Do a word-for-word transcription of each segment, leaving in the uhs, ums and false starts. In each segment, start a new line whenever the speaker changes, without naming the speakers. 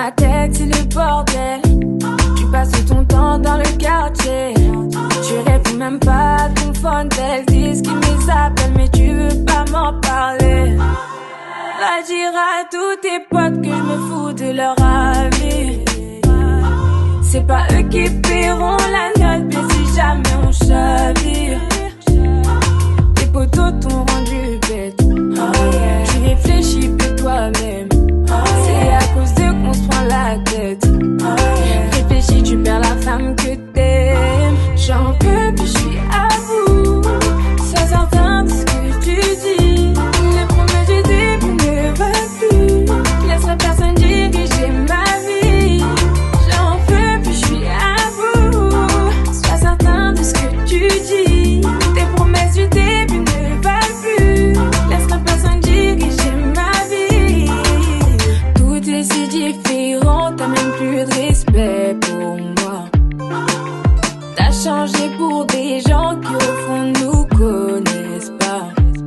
ma tête, c'est le bordel. Tu passes ton temps dans le quartier. Tu réponds même pas à ton phone. Elles disent qu'ils me appellent, mais tu veux pas m'en parler. Va dire à tous tes potes que je me fous de leur avis. C'est pas eux qui paieront la note, mais si jamais on chavire. Tes potos t'ont rendu bête. Oh yeah. Tu réfléchis plus toi-même. Oh c'est yeah. À cause d'eux qu'on se prend la tête. Oh yeah. Réfléchis, tu perds la femme que t'aimes. J'en peux plus, je suis à bout. Sois certain de ce que tu dis. Les promesses du début ne veulent plus. Laisse personne diriger ma vie. J'en peux plus, je suis à bout. Sois certain de ce que tu dis. Tes promesses du début ne valent plus. Laisse personne diriger ma vie. Tout est si différent, t'as même plus de respect pour moi. T'as changé pour des gens qui au fond nous connaissent pas.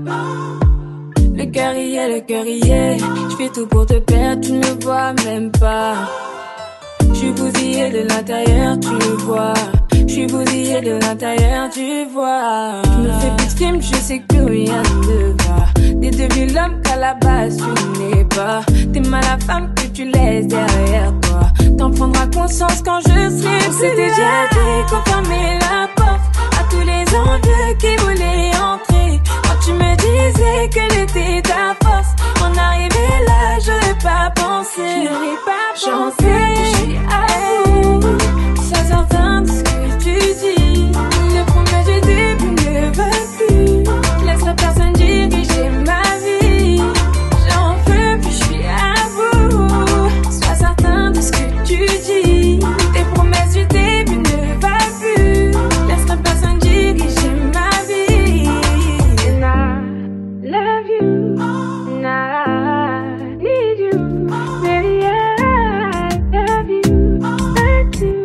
Le cœur y est, le cœur y est. J'fais tout pour te perdre, tu ne me vois même pas. J'suis bousillé de l'intérieur, tu le vois. J'suis bousillé de l'intérieur, tu vois. J'me fais plus de films, je sais que rien ne va. T'es devenu l'homme qu'à la base tu n'es pas. T'es mal la femme que tu laisses derrière toi. T'en prendras conscience quand je serai plus. C'était déjà dit qu'on fermait la porte à tous les envieux qui voulaient entrer. Quand tu me disais que l'été ta force, en arrivé là, j'aurais pas pensé. J'aurais pas pensé. Je suis à bout. Sois certain de ce que tu dis. Les promesses du début ne veulent plus. Laisse personne diriger ma vie. J'en peux plus, je suis à bout. Sois certain de ce que tu dis. Tes promesses du début ne valent plus. Laisse personne diriger ma vie. And I love you. And I need you. Baby, I love you. I do.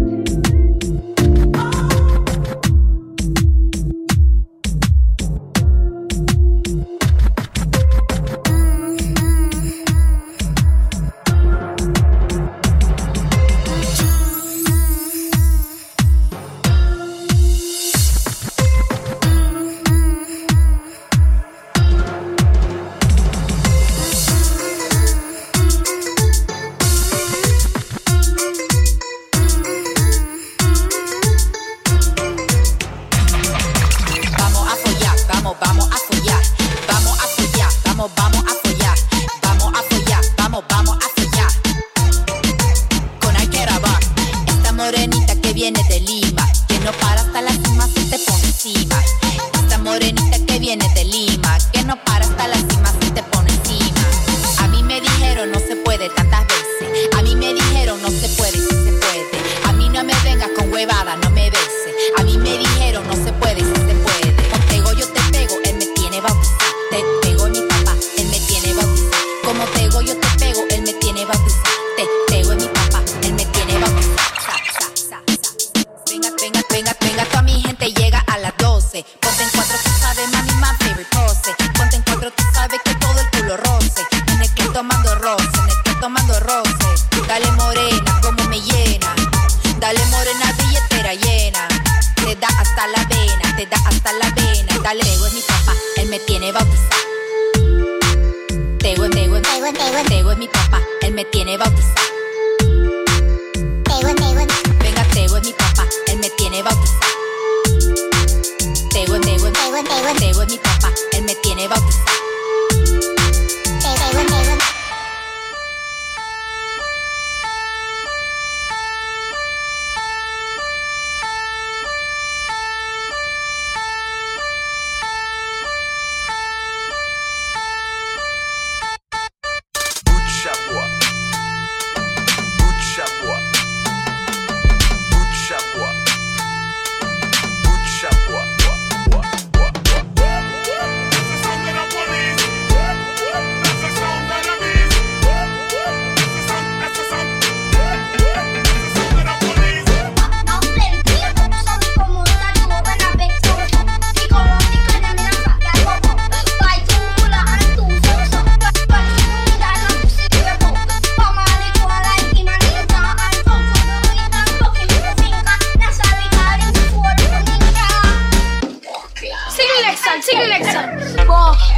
Vamos a follar, vamos, vamos a follar. Vamos a follar, vamos, vamos a follar. Vamos a follar, vamos, vamos a follar. Con Alqueraba, esta morenita que viene de Lima, que no para hasta la cima, se te pone encima. Esta morenita que viene de Lima, que no para hasta la cima, se te pone encima. A mí me dijeron no se puede tantas veces. A mí me dijeron no se puede, si se puede. A mí no me vengas con huevada, no me beses. A mí me dijeron no se puede, si se puede. Contigo yo te pego, él me tiene bautizado. Te pego mi papá, él me tiene bautizado. Como tego yo te pego, él me tiene bautizado. Te pego en mi papá, él me tiene bautizado. Sa, sa, sa, sa. Venga, venga, venga, venga, toda mi gente llega a las doce. Ponte en cuatro, tú sabes, mami, my favorite pose. Ponte en cuatro, tú sabes que todo el culo roce. En el que tomando roce, en el que tomando roce. Dale morena, como me llena. Dale morena, billetera llena. Te da hasta la vena, te da hasta la vena. Dale, Tego es mi papá, él me tiene bautizado. Tego, Tego, Tego, Tego, Tego es mi papá, él me tiene bautizado. Tego, Tego, venga, Tego es mi papá, él me tiene bautizado. Tego, Tego, Tego, Tego, Tego es mi papá, él me tiene bautizado. Tego, Tego.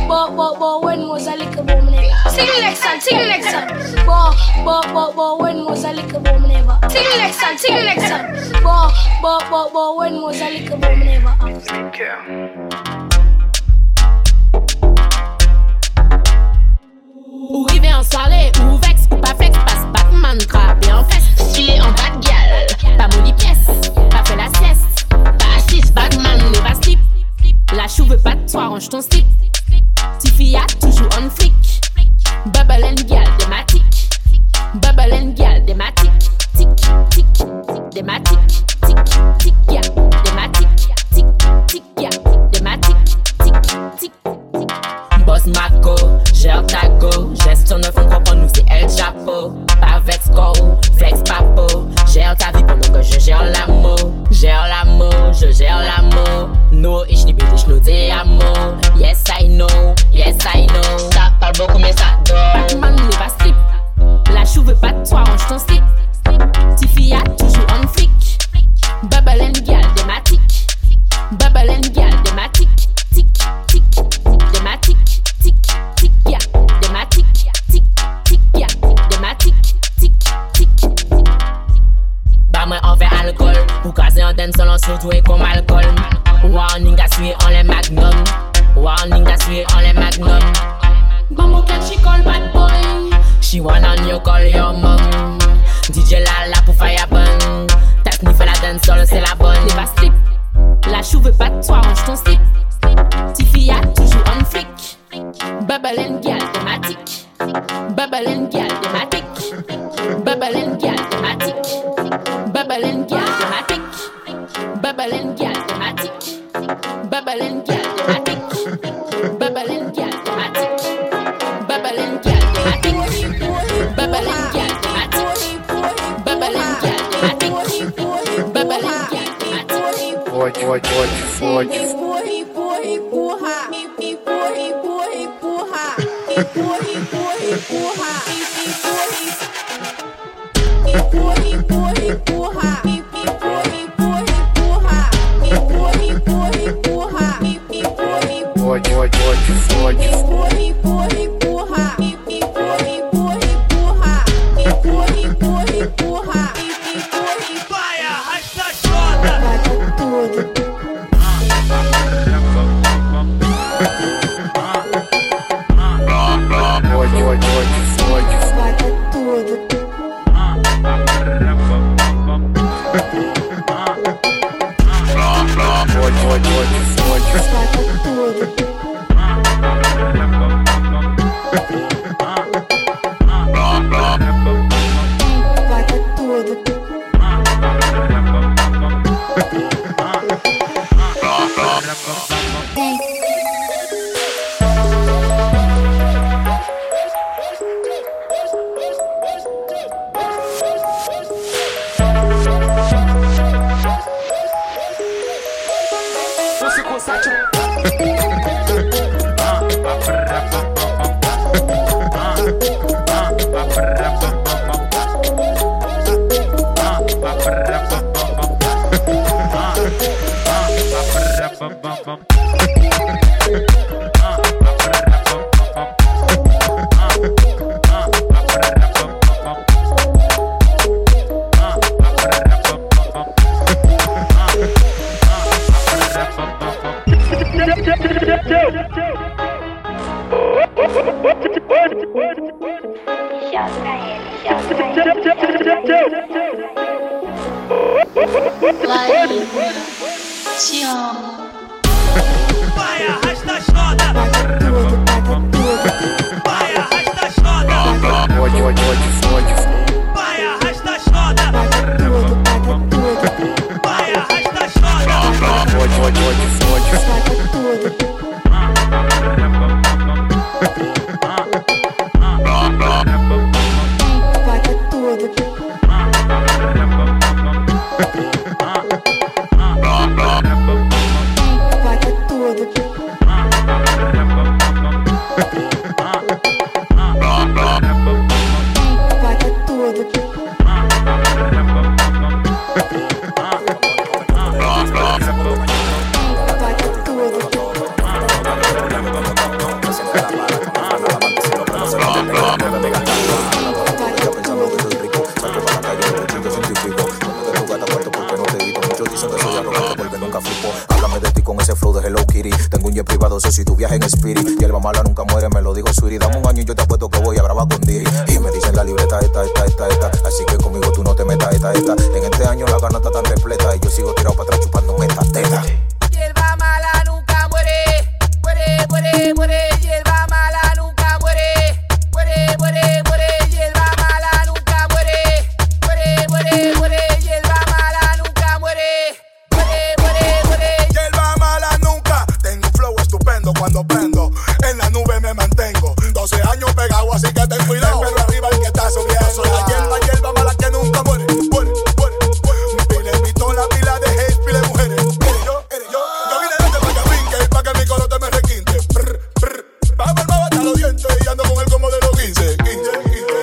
bo, bo, bo, when was a little boom nigga? Sing the next song, sing the next song. Bo, bo, bo, bo, when was a little boom nigga? Sing the next song, sing the next song. Bo, bo, bo, bo, when was a little boom nigga?
Ou rivé en soirée, ou vex, ou pas flex, passe Batman, trappé en fesse. Filé en bas de gueule, pas molly pièce, pas fait la sieste. Pas assise, Batman, ne va slip. La chou veut pas de toi, range ton slip. Tiffy a toujours on flick. Bubble and gal, dématique. Bubble and gal, dématique. Tic, tic, dématique. Tic, tic, ya, dématique. Tic, tic, ya, dématique. Tic, tic, tic. Boss Mako, gère ta go. Gestion neuf, on comprend nous c'est El Chapo. Pas vex go, flex papo. Gère ta vie pendant que je gère l'amour. Gère l'amour, je gère l'amour. No, ich liebe dich, nur te amo. Yes I know, yes I know. Ça parle beaucoup mais ça dort. Batman ne va slip. La chou veut pas de toi, range ton slip. Tiffy a toujours on flick. Bubble and gal, dématique. Bubble and gal, dématique. Tic, tic, dématique. Tic, tic, ya, dématique. Tic, tic, ya, dématique. Tic, tic, tic. Bah moi on fait alcool. Pour casser en dance, on surtout et comme alcool. Warning à suivre en les magnum. Warning à suivre en les magnum. Maman can she call bad boy. She wanna you call your mom. D J Lala pour fire bun. Ta sniff la dance solo c'est la bonne. T'es pas slip. La chou veut pas de toi, range ton slip. Tiffy a toujours on flick. Bubble and gal thématique. Bubble and gal thématique. Bubble and gal thématique. Bubble and gal thématique. Bubble and gal thématique. Bubble and gal thématique. Bubble and gal thématique. Bubble and gal thématique. Bubble and gal thématique. Bubble and gal thématique. Bubble and gal thématique.
Pode, pode, pode, pode.
Empurra, empurra, empurra. Empurra, empurra, empurra. Empurra, empurra, empurra. Empurra, empurra, empurra.
Pode, pode, pode, pode.
Empurra, empurra, empurra. Empurra, empurra, empurra. Empurra, empurra, empurra.
Vai, arrasta a chota.
Vai com tudo.
Pode, pode, pode, pode.
Vai com tudo.
Pode, pode, pode, pode.
Vai com tudo. Vai com tudo.
Você consegue.
Te amo.
Vai, arrasta a chota.
Vai com tudo, vai com tudo.
Vai, arrasta a chota.
Pode, pode, pode, pode.
Vai, arrasta a chota.
Vai com tudo, vai com tudo.
Vai, arrasta a chota.
Pode, pode, pode, pode.
Vai com tudo. Vai com tudo.
Dicen que soy arrogante porque nunca flipo. Háblame de ti con ese flow de Hello Kitty. Tengo un jet privado, sé si tú viajas en Spirit. Y el mala nunca muere, me lo dijo Sweetie. Dame un año y yo te apuesto que voy a grabar con Diri. Y me dicen la libreta esta, esta, esta, esta. Así que conmigo tú no te metas, esta, esta. En este año la gana está tan repleta y yo sigo tirado para atrás chupándome esta teta.
Hierba mala nunca muere, muere, muere, muere. Hierba mala nunca muere, muere, muere, muere. Hierba mala nunca muere, muere, muere, muere. Hierba mala nunca muere, muere, muere, muere.
Hierba mala nunca. Tengo un flow estupendo cuando prendo. En la nube me mantengo. doce años pegado, así que ten cuidado. Pero arriba el que está subiendo. Yo soy la hierba, hierba mala que nunca muere, muere, muere, muere. Mi pila en pistola, pila de hate, pila de mujeres. Eres yo, eres yo. Yo vine desde pa' que brinque, pa' que mi corote me requinte. Brr, brr. Vamos al hasta los dientes y ando con el como de los quince, quince, quince.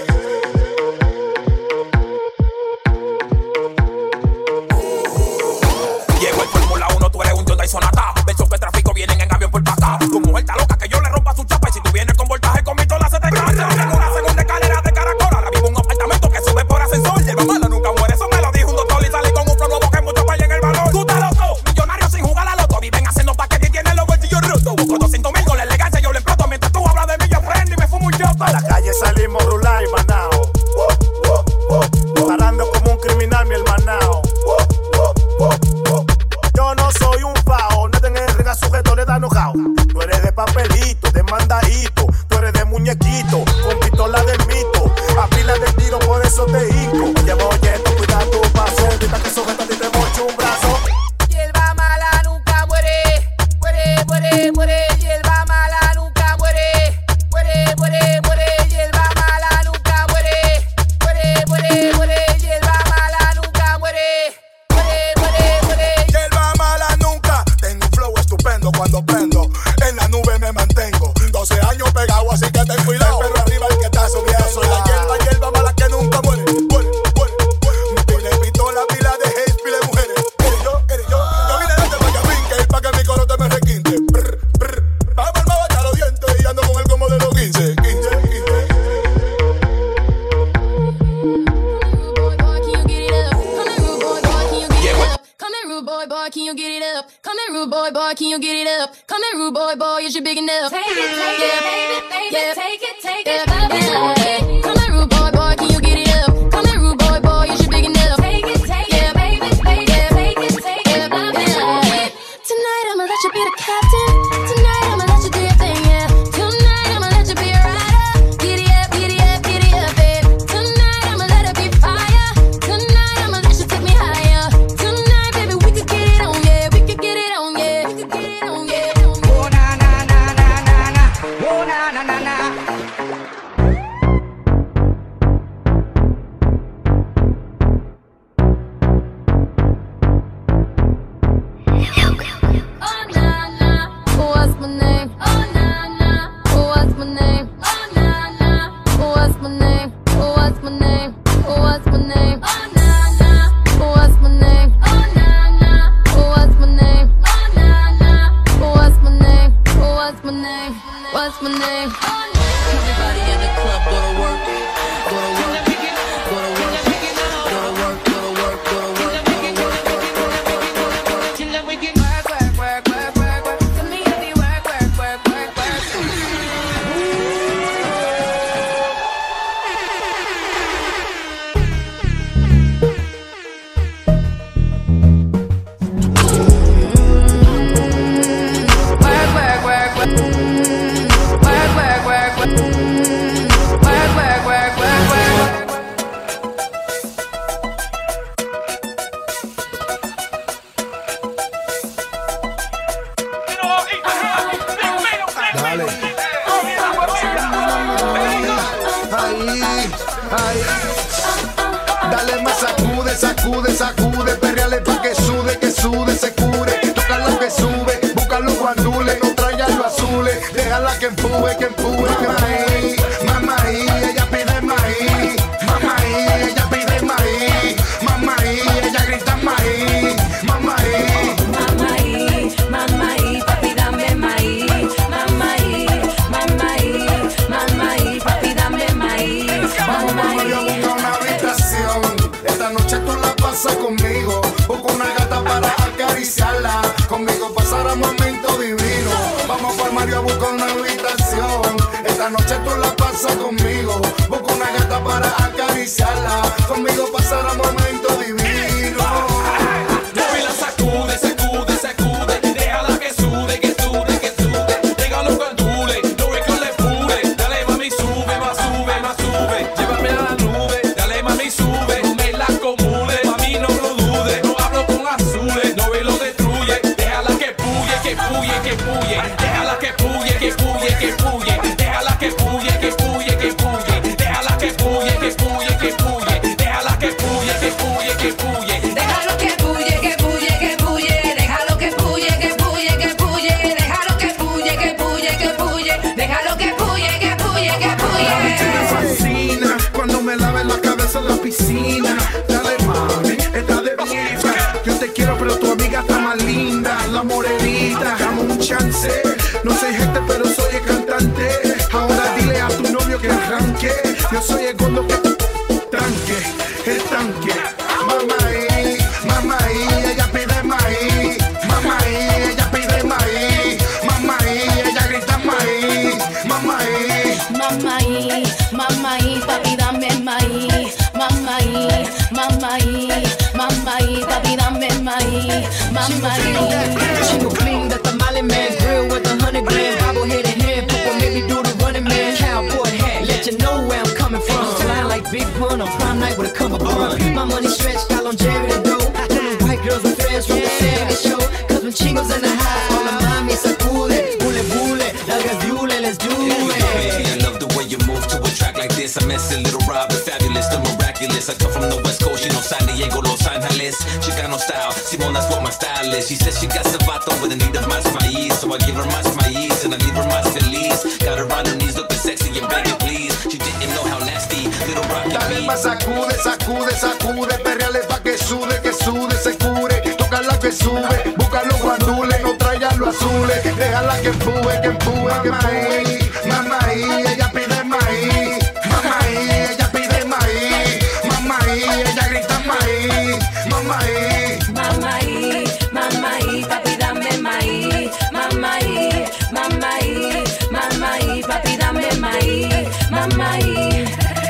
Llegó el Fórmula uno, tú eres un Hyundai Sonata. Versos que tráfico vienen en avión por pata. Tu mujer está loca que yo le rompa su chapa. Y si tú vienes con voltaje con mi tola se te cansa. Tengo una segunda escalera de caracol. Ahora vivo en un apartamento que sube por ascensor. Hierba mala nunca muere, eso me lo dijo un doctor. Y salí con un flow nuevo que mucho falla en el valor. Tú te loco, millonarios sin jugar a la loto. Viven haciendo paquetes y tienen los bolsillos rotos. Busco doscientos mil con la elegancia, yo le exploto. Mientras tú hablas de mí, yo prendo y me fumo un shot.
A la calle salimos rular y manao. Parando como un criminal, mi hermanao. Yo no soy un fao, no tengo el rega sujeto, le da enojado. Tú eres de papelito, de mandadito. Tú eres de muñequito, con pistola del mito. A pila de tiro, por eso te hinco. Oye, oye, tú cuida tu paso. Evita que sujeta a ti te moche un brazo.
Hierba mala nunca muere, muere, muere, muere. Hierba mala nunca muere, muere, muere, muere. Hierba mala nunca muere, muere, muere, muere. Hierba mala nunca muere, muere, muere, muere.
Hierba mala nunca. Tengo un flow estupendo cuando prendo. En la nube me mantengo. doce años pegado, así que ten cuidado. Pero arriba el que está subiendo. Yo soy la hierba, hierba mala que nunca muere, muere, muere, muere. Mi pila en pistola, pila de hate, pila de mujeres. Eres yo, eres yo. Yo vine desde pa' que brinque, pa' que mi corote me requinte. Brr, brr. Vamos al hasta los dientes y ando con el como de los quince, quince, quince.
Boy, boy, can you get it up? Come here, rude boy, boy, can you get it up? Come here, rude boy, boy, is you big enough?
Take it, take
Yeah.
it, baby, baby,
Yeah.
take it, take
Yeah,
it, baby.
yeah. Come here, rude boy, boy, can you get it up? Come here, rude boy, boy, is you big enough?
Take it, take
Yeah.
it, baby, baby,
Yeah.
take it, take
Yeah,
it, baby.
yeah. Tonight I'ma let you be the captain. Tonight I'ma let you do your thing, yeah. Tonight I'ma let you be a rider. Giddy up, giddy up, giddy up, babe. Tonight I'ma let it be fire. Tonight I'ma let you take me higher. Tonight, baby, we could get it on, yeah. We could get it on, yeah. We could get it on, yeah.
Oh na na na na na na. Oh na na na na.
Oh na na, what's my name? Oh na na, what's my name? Oh na na, what's my name? What's my name? What's my name? Oh na na, what's my name? Oh na na, what's my name? Oh na na, what's my name? What's my name? What's my name?
Everybody in the club go to work, go to work, go to work, go to work, go to work, go to work, go to work, work, work, work, work, work. To me, it be work, work, work, work, work.
Dale. Ahí, ahí. Dale más, sacude, sacude, sacude. Perreale pa' que sude, que sude, se cure. Toca lo que sube, busca los guandules. No traigan los azules. Déjala que empuje, que empuje. Maíz, mamaí, ella pide maíz. Mamaí, ella pide maíz. Mamaí, ella grita maíz. Mamaí.
Mamaí, mamaí, papi, dame maíz. Mamaí, mamaí, mamaí, papi, dame maíz. Mamaí.
Yo busco una habitación. Esta noche tú la pasas conmigo. Busco una gata para pasar momentos divinos. Vamos por Mario a buscar una habitación. Esta noche tú la pasas conmigo. Busco una gata para acariciarla. Conmigo pasará momentos divinos.
Mueve la sacude, sacude, sacude. Déjala que sude, que sude, que sude. Déjalo que dure, no ve que le pure. Dale mami, sube, más sube, más sube. Llévame a la nube, dale mami, sube. No me la acomule, mami, no lo dude. No hablo con azules, no ve lo destruye. Déjala que puye, que puye, que puye. Déjala que puye, que puye, que puye. Déjala que puye, que puye, que puye. Déjala que puye, que puye, que puye. Déjala que puye, que puye, que puye.
Déjalo que puye, que puye, que puye. Déjalo que puye, que puye, que puye. Déjalo que puye, que puye, que puye. Déjalo que puye, que puye, que puye.
Me fascina cuando me laves la cabeza en la piscina. Dale mami, está de vieja. Yo te quiero pero tu amiga está más linda. La morenita, dame un chance. No soy gente pero soy el cantante. Ahora dile a tu novio que arranque. Yo soy el gordo que tranque, el tanque. Mamá y, mamá y, ella pide maíz. Mamá y, ella pide maíz. Mamá y, ella grita maíz. Mamá y.
Mamá y, mamá y, papi dame maíz. Mamá y, mamá y, mamá y, papi dame maíz. Mamá y.
She gon' fling the tamale man grill with a hundred grand bobblehead in hand. People make me do the running man. Cowboy hat, let you know where I'm coming from. Fly like Big Pun on prime night with a come upon. My money stretched, got longevity though. Them white girls with threads from the seventies show. Cause when chingos in the house, all the mommy sacude. Bule bule, nalgas diule, let's do it.
I love the way you move to a track like this. I'm messy, little Robin, fabulous, the miraculous. I come from the West Coast, you know San Diego, Los Angeles. Chicano style, Simone, that's what my style is. She says she got sabato with a need of más maíz. So I give her más maíz and I leave her más feliz. Got her on her knees looking sexy and begging please. She didn't know how nasty little rock can
Dale
be.
más sacude, sacude, sacude. Perreale pa' que sude, que sude, se cure. Tócala que sube, busca los guandules. No traigan los azules. Déjala que empuje, que empuje, que empuje. Mamá y, ella pide maíz. Mamá y, ella pide maíz. Mamá y, ella grita maíz. Mamá y.
Mamá y, mamá y, papi dame maíz. Mamá y, mamá y, mamá y, papi dame maíz. Mamá y.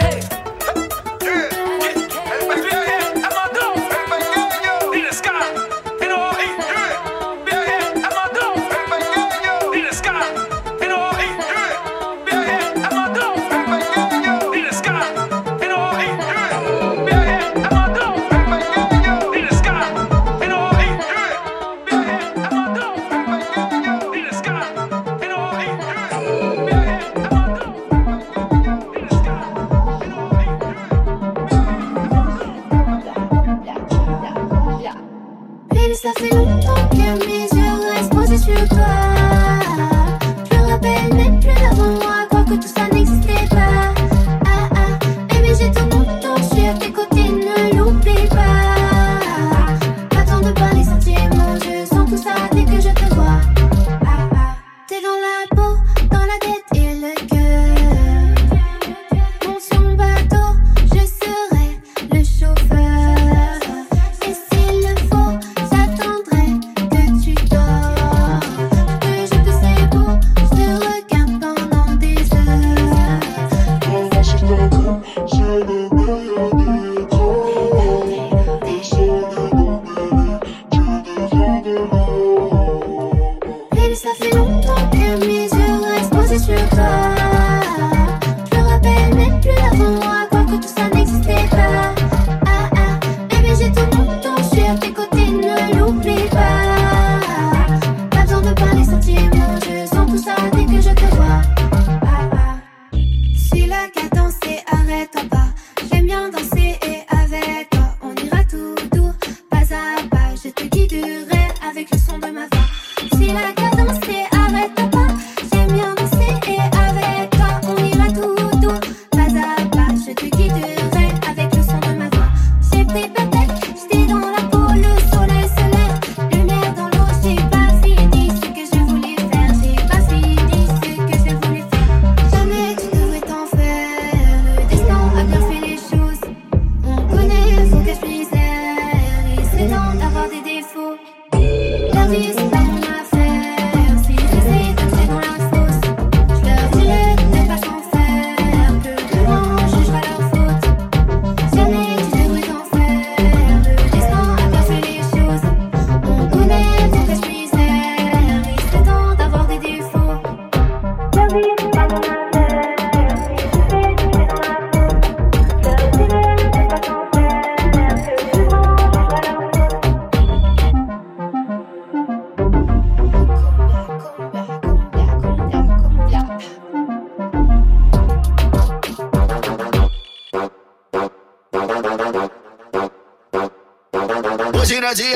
Baby, ça fait longtemps que mes yeux restent posés sur toi. Je me rappelle même plus d'avant moi, crois que tout ça n'existait pas. Ah ah, baby, j'ai tout mon temps sur tes côtés, ne l'oublie pas. Pas besoin de parler sentiments, je sens tout ça dès que je te vois. Ah ah, t'es dans la peau, dans la tête et le cœur. Mon son bateau, je serai le chauffeur. Et s'il le faut, j'attendrai que tu dors. Que je te sais beau, je te regarde pendant des heures. Baby, ça fait longtemps que mes yeux restent posés sur toi. Je me rappelle même plus d'avant moi, crois que tout ça n'existait pas. Ah ah, baby, j'ai tout mon temps sur tes côtés, ne l'oublie pas. Pas besoin de parler sentiments, je sens tout ça dès que je te vois. Ah ah, suis la cadence et arrête-toi pas. J'aime bien danser et avec toi, on ira tout doux, pas à pas. Je te guiderai avec le son de ma voix. Suis la cadence et arrête-toi pas. J'aime bien danser et avec toi, on ira tout doux, pas à pas. Je te guiderai avec le son de ma voix. J'ai pris ma tête, j'étais dans la peau, le soleil se lève, lumière dans l'eau. J'ai pas fini ce que je voulais faire, j'ai pas fini ce que je voulais faire. Jamais tu devrais t'en faire, le destin a bien fait les choses. On connaît son cache-misère, il serait temps d'avoir des défauts. La vie c'est pas mon affaire,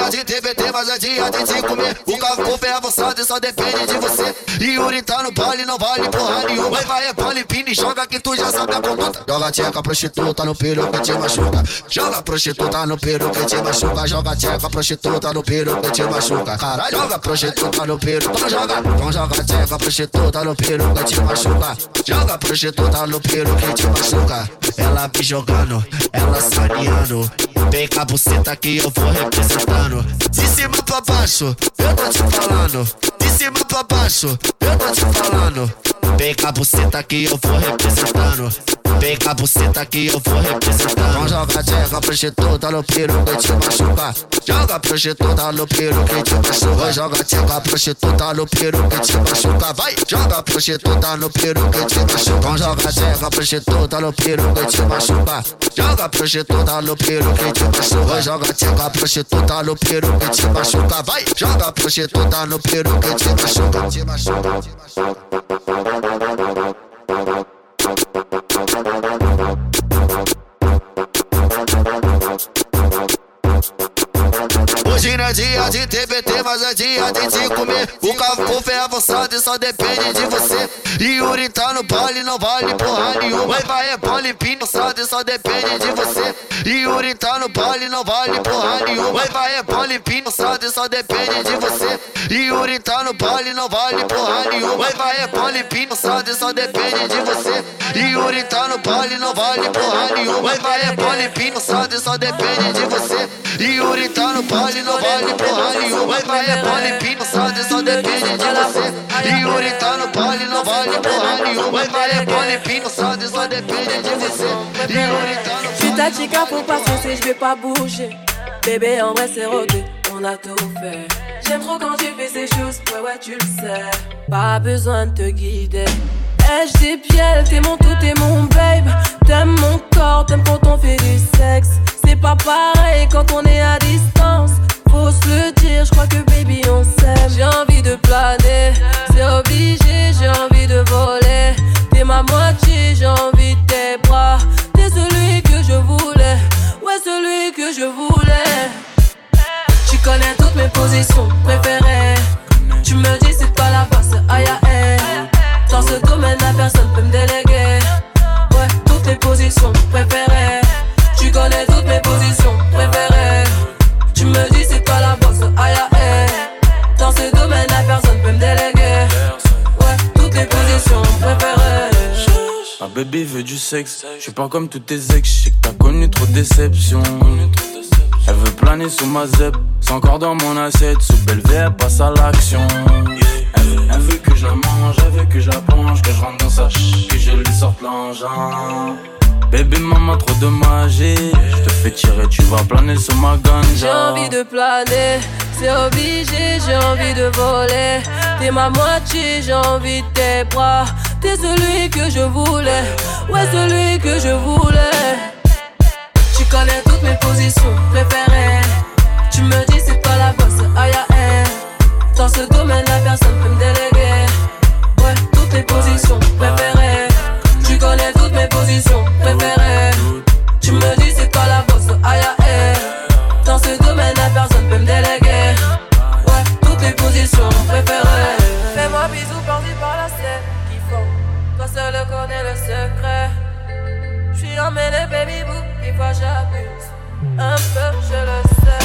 dia de T B T, mas é dia de te comer. O carro é avançado e só depende de você. Yuri tá no baile, não vale porra nenhuma. Vai, vai, é pole, pine, joga que tu já sabe a conduta. Joga tcheca, prostituta no peru que te machuca. Joga prostituta no peru que te machuca. Joga tcheca, prostituta no peru que te machuca. Caralho, joga prostituta no peru. Então joga, então joga tcheca, prostituta no peru que te machuca. Joga prostituta no peru que te machuca. Ela me jogando, ela saneando. Vem com a buceta que eu vou representando. De cima pra baixo, eu tô te falando. De cima pra baixo, eu tô te falando. Vem com a buceta que eu vou representando. Vem com a buceta que eu vou representando. Então joga tcheca, prostituta no peru que te machuca. Joga prostituta no peru que te machuca. Joga tcheca, prostituta no peru que te machuca. Vai, joga prostituta no peru que te machuca. Então joga tcheca, prostituta no peru que te machuca. Joga prostituta no peru que te machuca. Joga tcheca, prostituta no peru que te machuca. Vai, joga prostituta no peru que te machuca. Te machuca, te machuca. Hoje não é dia de T B T, mas é dia de te comer. O carro é avançado e só depende de você. Yuri tá no baile, não vale porra nenhuma. Vai, vai, é pole, pino, avançado e só depende de você. Yuri tá no baile, não vale porra nenhuma. Vai, vai, é pole, pino, avançado e só depende de você. Yuri tá no baile, não vale porra nenhuma. Vai, vai, é pole, pino, avançado e só depende de você. Yuri tá no baile, não vale porra nenhuma. Vai, vai, é pole, pino, avançado e só depende de você. Yuri tá no baile, não vale porra nenhuma. Vai, vai, é pole, pino, avançado e só depende de você. Yuri tá no baile, não vale porra nenhuma. Vai, vai, é pole, pino, avançado e só depende de você. Yuri tá no baile.
Je suis ta chica, faut pas foncer, je vais pas bouger. Bébé, en vrai, c'est rodé, on a tout fait. J'aime trop quand tu fais ces choses, ouais, ouais, tu le sais. Pas besoin de te guider. Ai-je des pieds, t'es mon tout, t'es mon babe. T'aimes mon corps, t'aimes quand on fait du sexe. C'est pas pareil quand on est à distance. Faut se le dire, je crois que baby on s'aime. J'ai envie de planer, c'est obligé, j'ai envie de voler. T'es ma moitié, j'ai envie de tes bras. T'es celui que je voulais, ouais celui que je voulais. Tu connais toutes mes positions préférées. Tu me dis c'est pas la face, aïe aïe. Dans ce domaine la personne peut me déléguer. Ouais, toutes les positions préférées. Tu connais toutes mes positions préférées. Tu me dis c'est pas la bosse, aïe aïe. Dans ce domaine la personne peut me déléguer. Ouais, toutes les positions préférées.
Ma baby veut du sexe, je suis pas comme tous tes ex. Je sais que t'as connu trop de déceptions. Elle veut planer sous ma zep, c'est encore dans mon assiette. Sous belle V, elle passe à l'action. Elle veut, elle veut que je la mange, elle veut que je la penche, que je rentre dans sa ch, que je lui sorte l'engin. Bébé maman trop de magie, je te fais tirer, tu vas planer sur ma ganja.
J'ai envie de planer, c'est obligé, j'ai envie de voler. T'es ma moitié, j'ai envie de tes bras. T'es celui que je voulais, ouais celui que je voulais. Tu connais toutes mes positions préférées. Tu me dis c'est pas la bosse, aïe aïe. Dans ce domaine la personne peut me déléguer. Ouais, toutes les positions préférées. Tu connais toutes mes positions préférées. Tu me dis c'est pas la bosse, aïe aïe. Dans ce domaine la personne peut me déléguer. Ouais, toutes les positions préférées. Fais-moi bisous par-ci par-là, c'est kiffant. Toi seul connais le secret. J'suis emmêlé baby boo, des fois j'abuse. Un peu je le sais.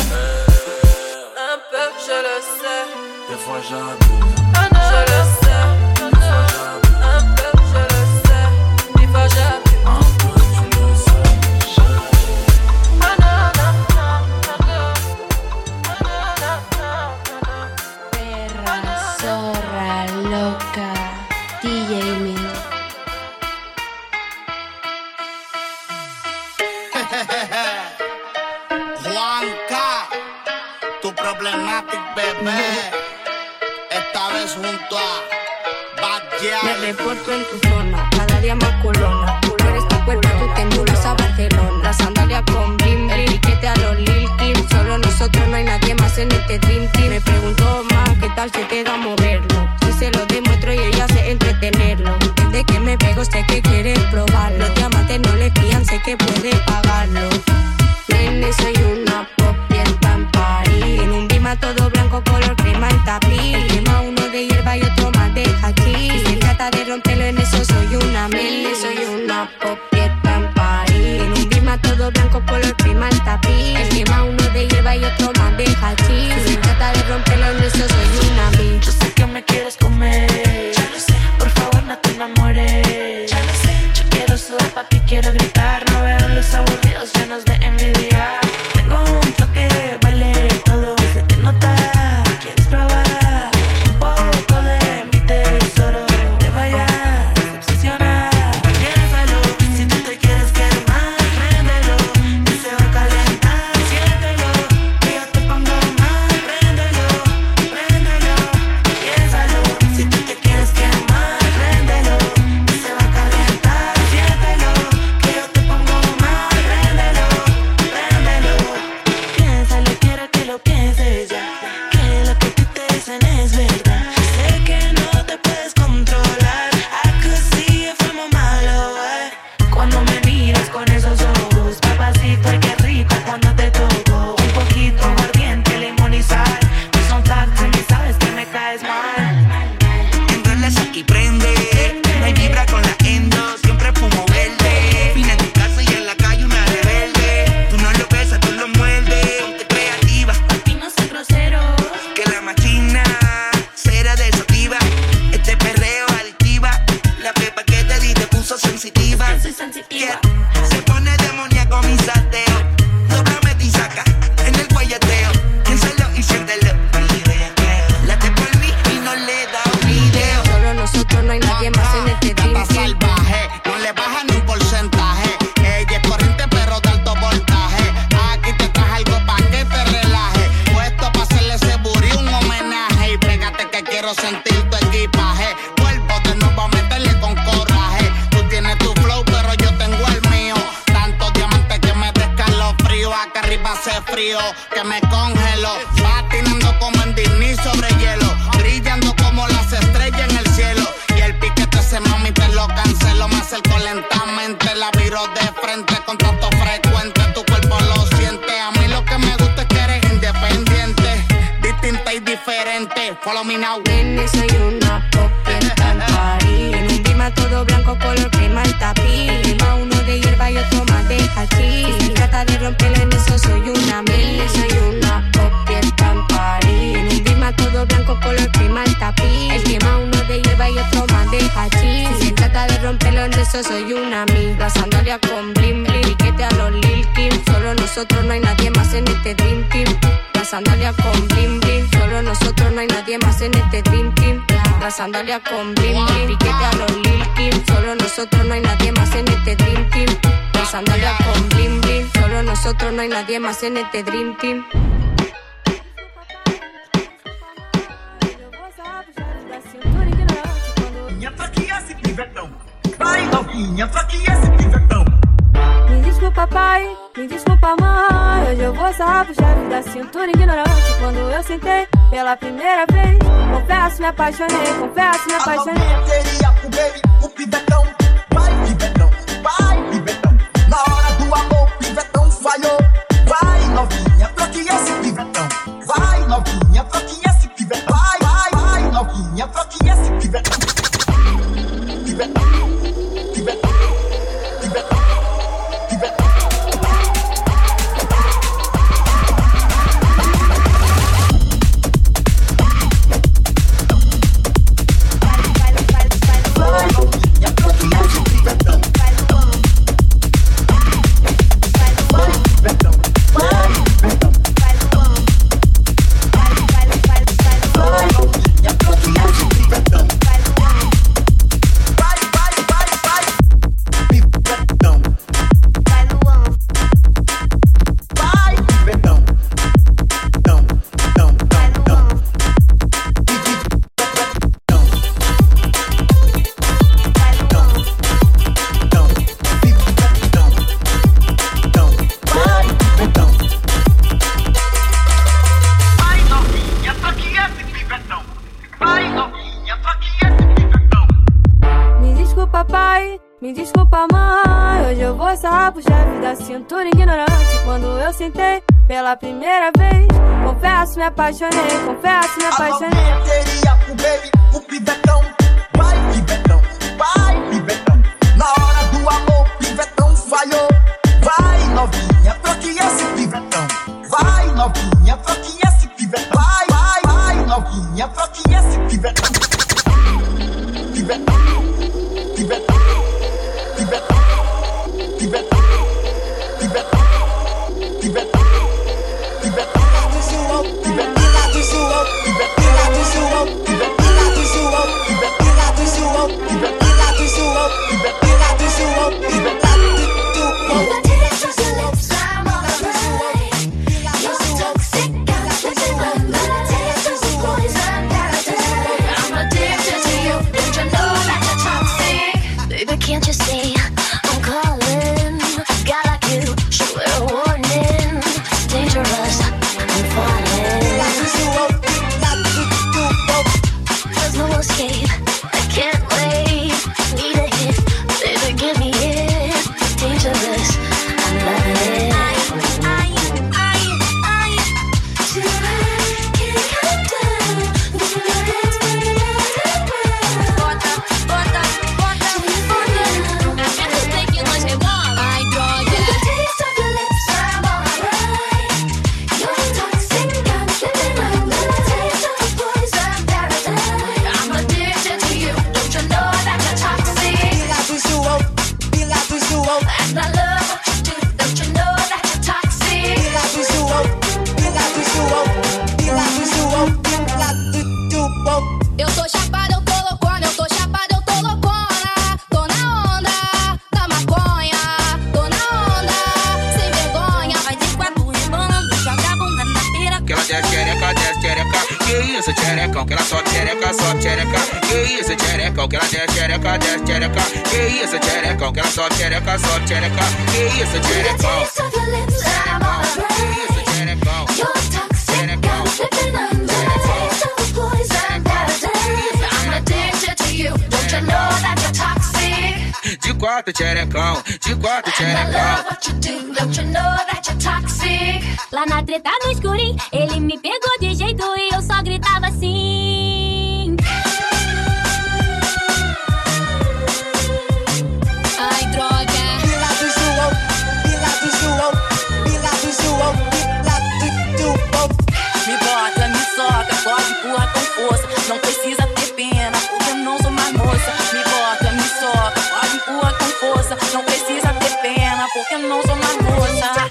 Un peu je le sais.
Des fois j'abuse.
Je le sais. Un peu je le sais. Des fois j'abuse.
Un peu tu le sais.
Perra, zorra, loca, D J Mil.
Juanca, tu problematic bebé, esta vez junto a Bad Gyal.
Me reporto en tu zona, cada día más colona. Tú no eres tu cuerpo, tú te mudas a Barcelona. La sandalia con blim, el piquete a los Lil Kim. Solo nosotros, no hay nadie más en este Dream Team. Me pregunto más, ¿qué tal se te da moverlo? Si se lo demuestro y ella sé entretenerlo. Desde que me pego sé que quieres probarlo. Los diamantes no le fían, sé que puede pagarlo. Nene, soy una pop y está en París. En un
quiero sentir tu equipaje. Cuerpo de nuevo a meterle con coraje. Tú tienes tu flow, pero yo tengo el mío. Tantos diamantes que me descalofrío. Acá arriba hace frío, que me congelo. Patinando como en Disney sobre hielo. Brillando como las estrellas en el cielo. Y el piquete ese mami te lo cancelo. Me acerco lentamente, la viro de frente. Contacto frecuente, tu cuerpo lo siente. A mí lo que me gusta es que eres independiente, distinta y diferente. Follow me now.
Nene, soy una pop en París. En un clima todo blanco, color crema el tapiz. Lleva uno de hierba y otro más de hachís. Si trata de romperlo en eso soy una mil. Soy una pop en París. En un clima todo blanco, color crema el tapiz. El quema uno de hierba y otro más de hachís. Si se trata de romperlo en eso soy una mil. La sandalia con bling bling, piquete a los Lil Kim. Solo nosotros, no hay nadie más en este Dream Team. La sandalia con bling bling, solo nosotros, no hay nadie más en este Dream Team. La sandalia con bling bling, piquete a los Lil Kim. Solo nosotros, no hay nadie más en este Dream Team. La sandalia con bling bling, solo nosotros, no hay nadie más en este Dream Team.
Vai novinha, pra que esse pivetão?
Me desculpa pai, me desculpa mãe. Hoje eu vou sarrar pro chefe da cintura ignorante. Quando eu sentei pela primeira vez, confesso me apaixonei, confesso me apaixonei.
Eu queria o baby, o pivetão. Vai pivetão, vai pivetão. Na hora do amor, pivetão falhou. Vai novinha, pra que esse pivetão? Vai novinha, pra que esse pivetão? Vai, vai, vai novinha, pra que esse pivetão? Pivetão.
Me desculpa mãe, hoje eu vou sarrar pro chefe da cintura ignorante. Quando eu sentei pela primeira vez, confesso me apaixonei, confesso me apaixonei.
Eu queria o baby, o pivetão. Vai pivetão, vai pivetão. Na hora do amor, pivetão falhou. Vai novinha, pra que esse pivetão? Vai novinha, pra que esse pivetão? Vai, vai, vai novinha, pra que esse pivetão? Pivetão, pivetão.
I'm addicted to you, don't you know that?
desce xereca. Que isso, xerecão, que ela só xereca, só xereca. Que isso, xerecão, que ela desce xereca, desce xereca. Que isso, xerecão, que ela só xereca, só xereca. Que isso, xerecão. De quatro xerecão, de quatro xerecão.
Lá na treta no escurinho, ele me pegou de jeito e eu só gritava assim.
Ai, droga.
Pila do João, pila do João, pila do João, pila do João.
Me bota, me soca, pode empurrar com força. Não precisa ter pena, porque eu não sou mais moça. Me bota, me soca, pode empurrar com força. Não precisa ter pena, porque eu não sou mais moça.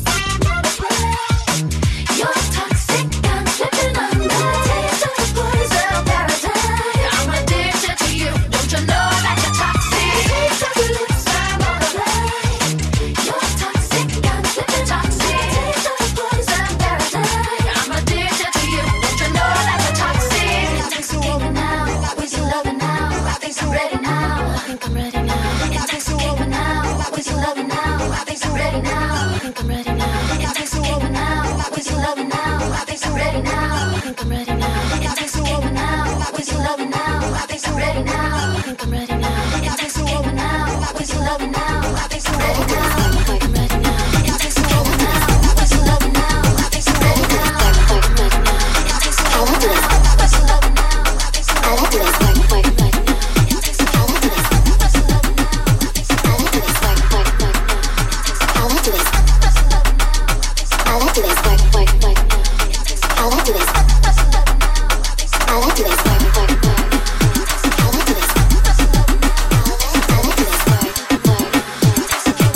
You're toxic, I'm slipping under. Taste of your poison paradise. I'm addicted to you. Don't you know that you're toxic? Taste of your lips, I'm on the line. You're toxic, I'm slipping toxic. Taste of your poison paradise. I'm addicted to you. Don't you know that you're toxic? It takes a woman now, with your loving now. I think I'm ready now. I think I'm ready now. It takes a woman now, with your loving now. I think I'm ready now. I think I'm ready now. It takes a woman now, with your loving now. I think I'm ready now. I think I'm ready now. It takes a woman now, with your loving now. I think I'm ready now. I think I'm ready now. It takes a woman now, with your loving now. I think I'm ready now. I think I'm ready now. It takes a woman now, with your loving now. I think I'm ready now. I think I'm ready now. It takes a woman now, with your loving now. I think I'm ready now. I like this work, work, work. It takes a woman now, with your loving now. I like this work, work, work. I like this. I like this work, work, work. I like this. I like this work, work, work. I like this. I like this work, work.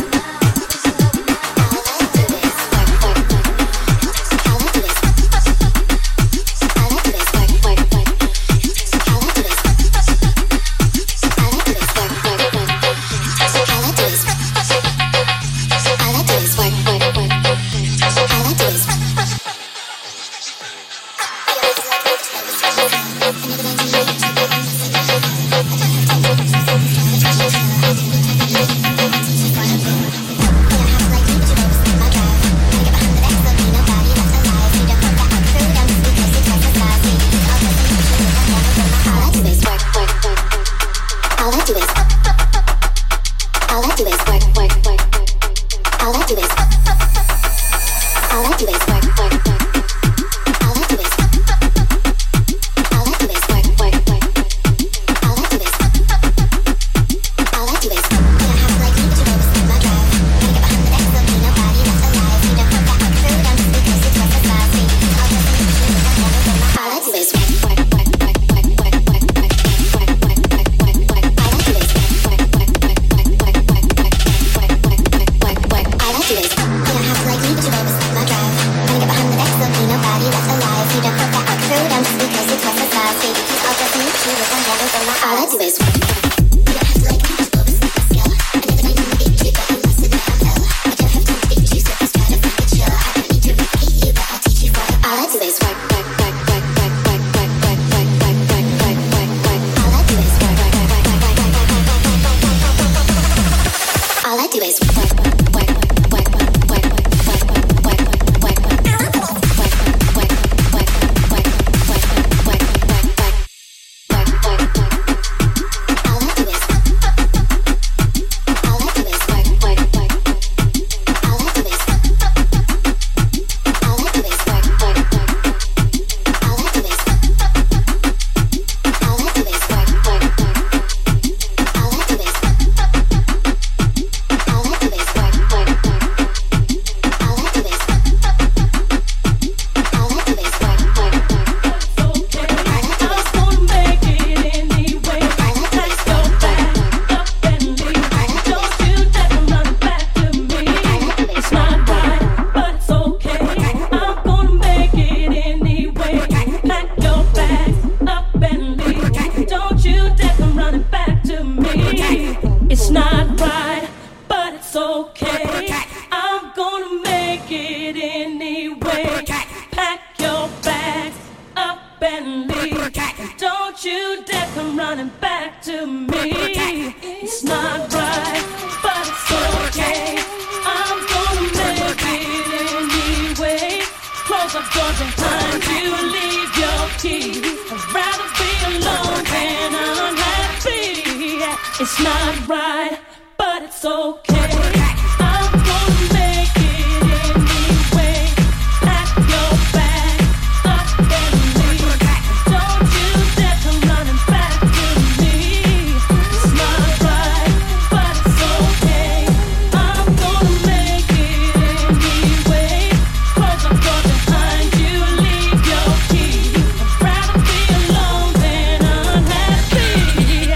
Don't you dare come running back to me. It's not right, but it's okay. I'm gonna make it anyway. Close the door behind you, leave your key. I'd rather be alone than unhappy. It's not right, but it's okay. I'm gonna make it anyway. Pack your bag up and leave. Don't you dare come running back to me. It's not right, but it's okay. I'm gonna make it anyway. Close the door behind you, leave your key. I'd rather be alone than unhappy.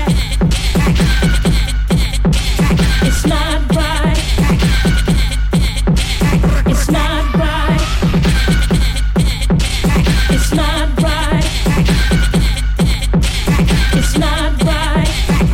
It's not right. It's not right. It's not right. It's not right.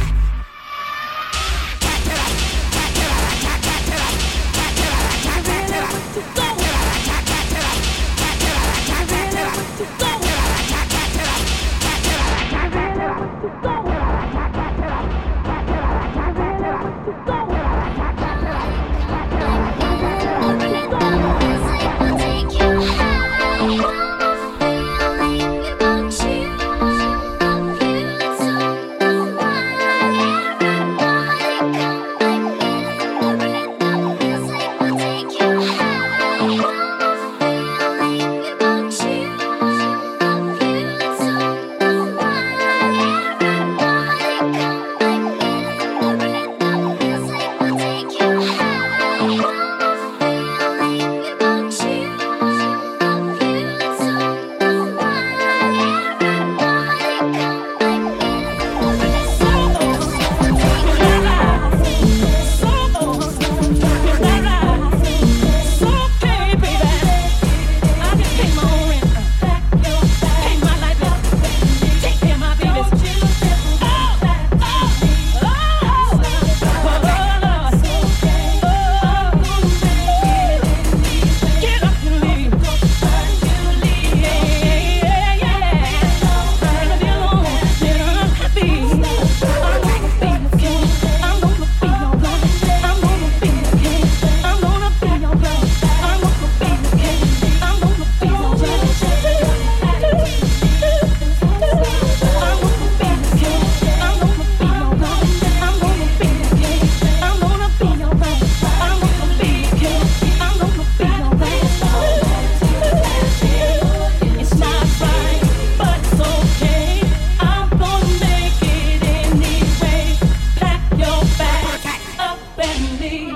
It's not right, but it's okay. I'm gonna make it anyway. Pack your bag up and leave.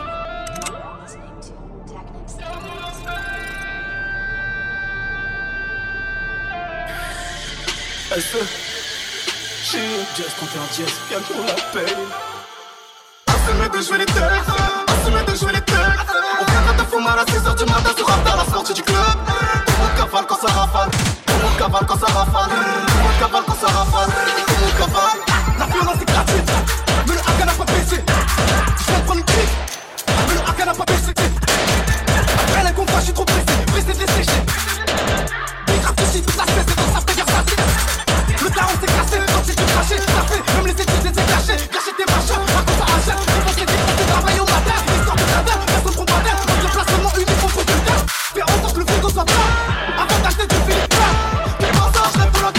Elle se chie, jazz contre un jazz, bien qu'on la paye. Assume de jouer les têtes, assume de jouer les têtes. On viendra de fumar à six heures du matin sur Raptor, la sortie du club. Tout le monde cavale quand ça rafale, tout le monde cavale quand ça rafale, tout le monde cavale quand ça rafale, tout le monde cavale. La violence est gratuite, mais le haka n'a pas baissé. Je viens de prendre une clique, mais le haka n'a pas baissé. Après les combats, je suis trop pressé, pressé de les sécher. Des graves de shit, toute la spèce, c'est dans sa tailleur, ça dit. Le daron s'est cassé, quand j'ai dû cracher, ça fait. Même les études, les ai gâchées, gâché tes machins, raconte ça à chaque. Je pense que c'est des travail au matin, histoire de cadavre, personne comprend pas. Donc le placement unique contre quelqu'un. Fais en sorte que le frigo soit plein, avant d'acheter du film plein. Tes mensonges, rêve de l'autre.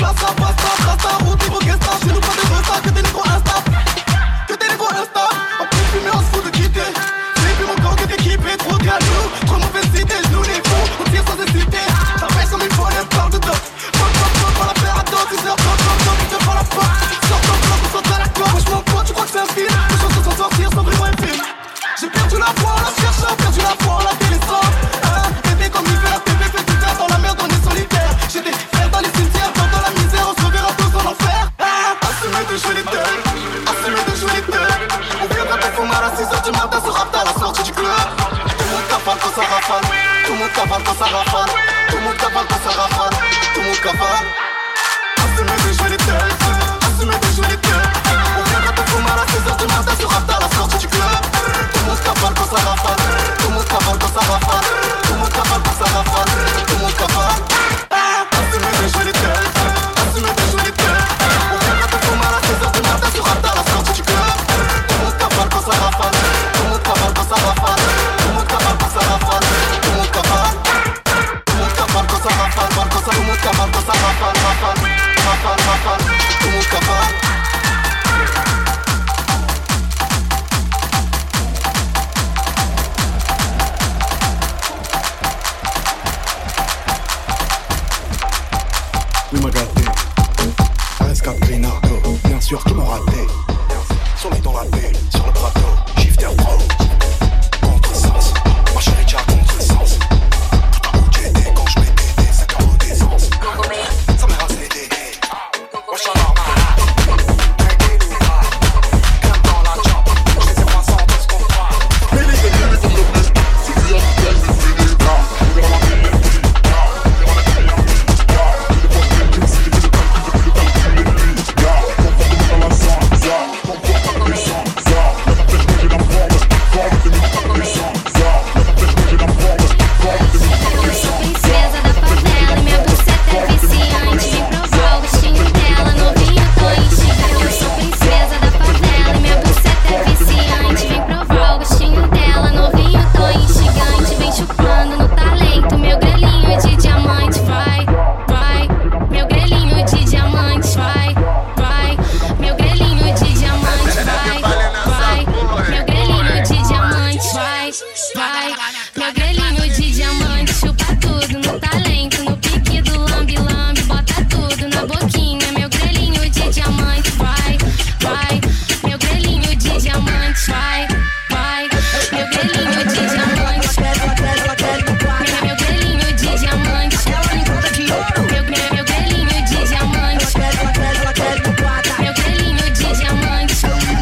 raté. A S Caprina, bien sûr qu'ils m'ont raté. Sont les dans la paix, sur le plateau, shifter pro. Contresens, ma chérie déjà contresens. Tout à où j'étais quand je mettais des cinq ans d'essence. Ça m'est rasé des nez, moi j'en ai marre. T'inquiète ou pas, crème dans la chop, je les ai pas sans tout ce qu'on croit. Mais les gars, les gars, les gars, si tu as du gaz, c'est des gars. On verra ma vie, les petits gars. On verra la vie, les petits gars. Il est pas bien, tu me sais, il est pas bien, tu me sais, il est pas bien, tu gars. Comporte-moi dans la sang, ça. Comporte-moi puissant, ça. La tête bouge la forme, forme, c'est une puissant, ça. La tête bouge la forme, forme, c'est une puissant.
Princesa da favela e minha buceta é viciante. Vem provar o gostinho dela, novinho, tô instigante. Eu sou princesa da favela e minha buceta é viciante. Vem provar o gostinho dela, novinho, tô instigante. Vem chupando no talento, meu grelhinho de diamante. Vai, vai, meu grelhinho de diamante. Vai, vai, meu grelhinho de diamante. Vai, vai, meu grelhinho de diamante. Vai, vai, meu grelhinho de diamante. Chupa tudo no talento, no pique do lambe-lambe. Bota tudo na boquinha, meu grelhinho de diamante. Vai, vai, meu grelhinho de diamante. Vai, vai, meu grelhinho de diamante. Meu grelhinho de diamante. Meu, meu, meu grelhinho de diamante. Meu grelhinho de diamante.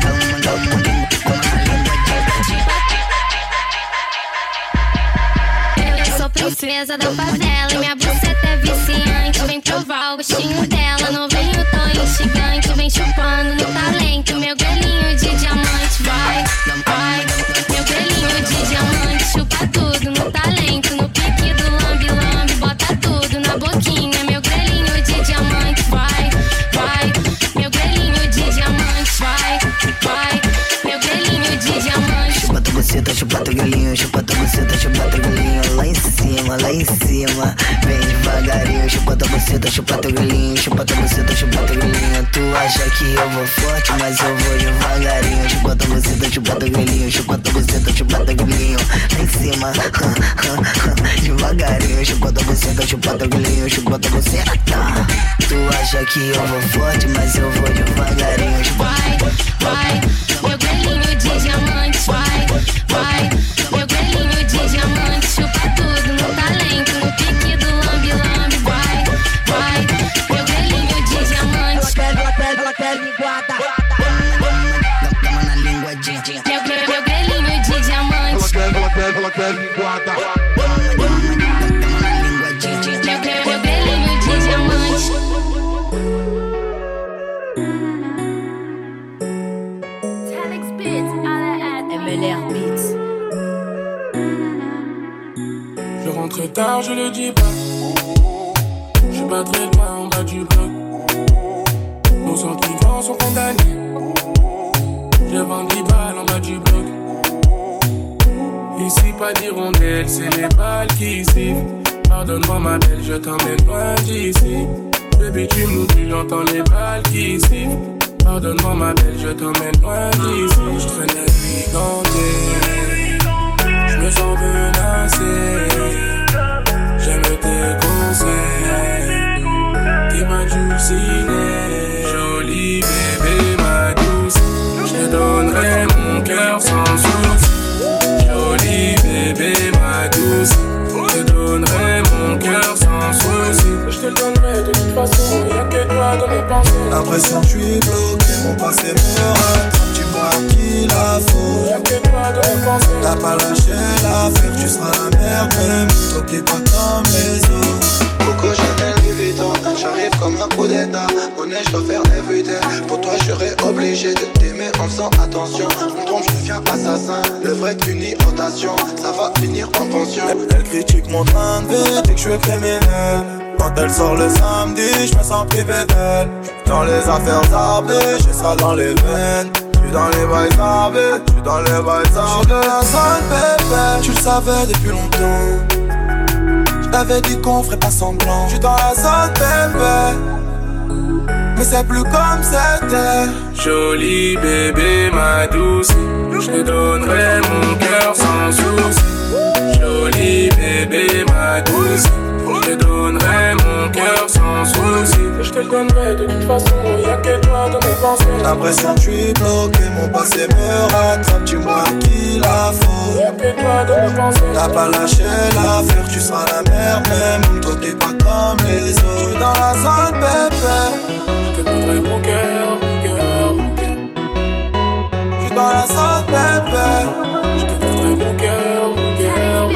Eu sou princesa da favela e minha buceta é viciante. Vem provar o gostinho dela, novinho, tô instigante. Vem chupando no talento, meu grelhinho de diamante. Vai, vai, meu grelhinho de diamante. Chupa tudo no talento, no pique do lambe-lambe. Bota tudo na boquinha, meu grelhinho de diamante. Vai, vai, meu grelhinho de diamante. Vai, vai, meu grelhinho de diamante.
Chupa tua buceta, chupa teu grelhinho. Chupa tua buceta, chupa teu grelhinho. Lá em cima, lá em cima. Vem devagarinho. Chupa tua buceta, chupa teu grelhinho. Chupa tua buceta, chupa teu grelhinho. Tu acha que eu vou forte, mas eu vou devagarinho. Chupa tua buceta, chupa teu grelhinho. Chupa tua buceta, chupa teu grelhinho. Lá em cima, devagarinho. Chupa tua buceta, chupa teu grelhinho. Chupa tua buceta. Tu acha que eu vou forte, mas eu vou devagarinho.
Vai, vai, meu grelhinho de diamante. Vai, vai, meu grelhinho de diamante. Chupa tudo no talento, no pique do lambe-lambe. Vai, vai, meu grelhinho de diamante.
Ela quer linguada. Dama na linguadinha.
Meu, meu, meu grelhinho de diamante.
Ela quer, ela quer, ela quer linguada.
Dama na linguadinha.
Meu, meu, meu grelhinho de diamante.
M L R Beats.
Je rentre tard, je le dis pas. Je suis pas très loin en bas du bloc. Nos sentiments sont condamnés. Je vends dix balles en bas du bloc. Ici pas d'hirondelle, c'est les balles qui sifflent. Pardonne-moi ma belle, je t'emmène loin d'ici. Baby tu m'oublies, j'entends les balles qui sifflent. Pardonne-moi ma belle, je t'emmène loin d'ici. Je traîne la nuit gantée. Je me sens menacé. J'aime tes conseils. T'es ma dulcinée. Jolie bébé, ma douce. Je te donnerai mon cœur sans souci. Jolie bébé, ma douce. Je te donnerai mon cœur sans souci. Je te le donnerai de toute façon. Y'a que toi dans mes pensées.
L'impression que je suis bloqué, mon passé me rattrape. Tu vois qu'il la faut.
Y'a que toi dans mes pensées.
T'as pas lâché l'affaire, tu seras la merde même. T'oublie pas comme les autres. Coco Chanel Louis Vuitton, j'arrive comme un coup d'état. Monnaie, je dois faire des vues. Pour toi, je serais obligé de t'aimer en faisant attention. Je me trompe, je deviens assassin. Le vrai qu'une irritation, ça va finir en pension. Elle critique mon train de vie, dit que je suis criminel. Quand elle sort le samedi, je me sens privé d'elle. Dans les affaires arbées, j'ai ça dans les veines. J'suis dans les bails arbées, j'suis dans les bails arbées. J'suis de la zone bébé, tu le savais depuis longtemps. J't'avais dit qu'on ferait pas semblant. J'suis dans la zone bébé, mais c'est plus comme c'était.
Jolie bébé, ma douce. Je te donnerai mon cœur sans souci. Jolie bébé, ma douce. Je te donnerai mon cœur sans souci. Je te le donnerai de toute façon, y'a que toi dans mes pensées.
L'impression que je suis bloqué, mon passé me rattrape. Dis-moi qui la faut.
Y'a que toi dans mes pensées.
T'as pas lâché l'affaire, tu seras la mère même. Toi t'es pas comme les autres. Je suis dans la zone bébé.
Je te donnerai mon cœur, mon cœur, mon cœur.
Je suis dans la zone bébé.
Je te donnerai mon cœur, mon cœur.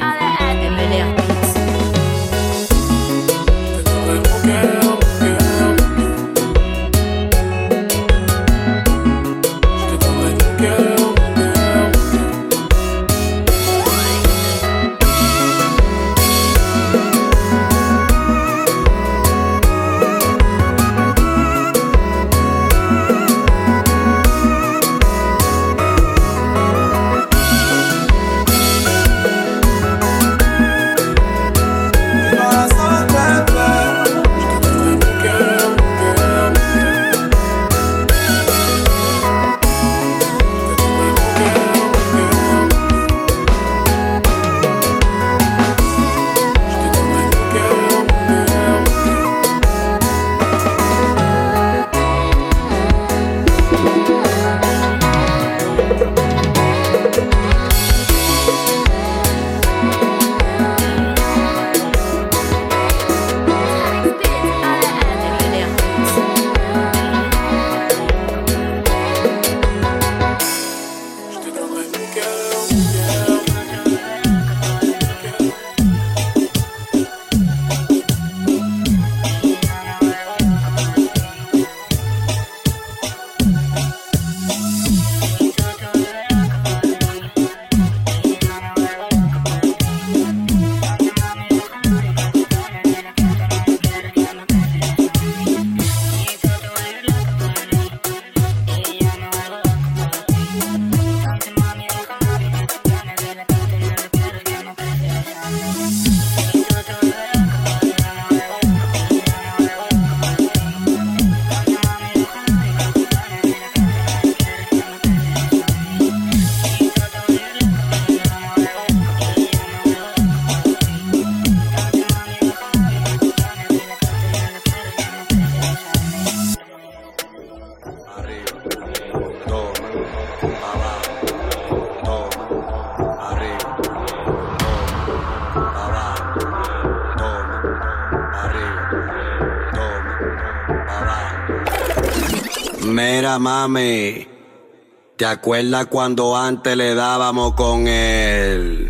Mira, mami, ¿te acuerdas cuando antes le dábamos con él?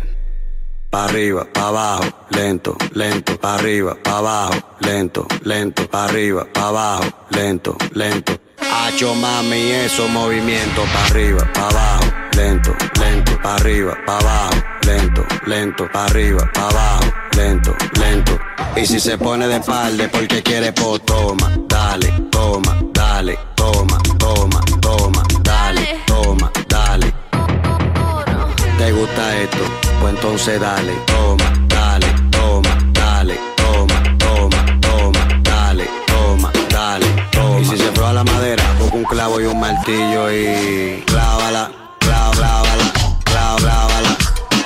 Pa' arriba, pa' abajo, lento, lento, pa' arriba, pa' abajo, lento, lento, pa' arriba, pa' abajo, lento, lento. Hacho, mami, esos movimientos pa' arriba, pa' abajo, lento, lento, pa' arriba, pa' abajo, lento, lento, pa' arriba, pa' abajo, lento, lento. Y si se pone de espalda porque quiere, pues toma, dale, toma, dale, toma, toma, toma, dale, toma, dale. ¿Te gusta esto? Pues entonces dale, toma, dale, toma, dale, toma, toma, toma, dale, toma, dale, toma. Y si se prueba la madera, busca un clavo y un martillo y clávala, clávala, clávala, clávala,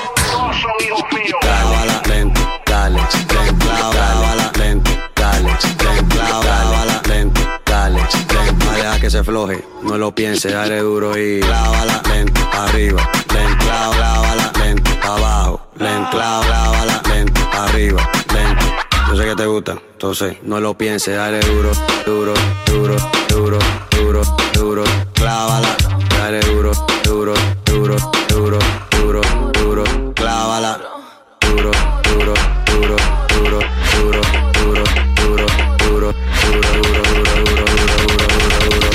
clávala, lento, dale, lento, clávala, lento, dale, lento, clávala, lento, dale, lento. No deja que se floje, no lo piense, dale duro y clávala, lento, arriba, lento, clávala, lento, abajo, lento, clávala, lento, arriba, lento. Yo sé que te gusta, entonces no lo pienses, dale duro, duro, duro, duro, duro, duro, clávala, dale duro, duro, duro, duro, duro, duro, clávala, duro, duro, duro, duro, duro, duro, duro, duro, duro, duro, duro, duro, duro, duro,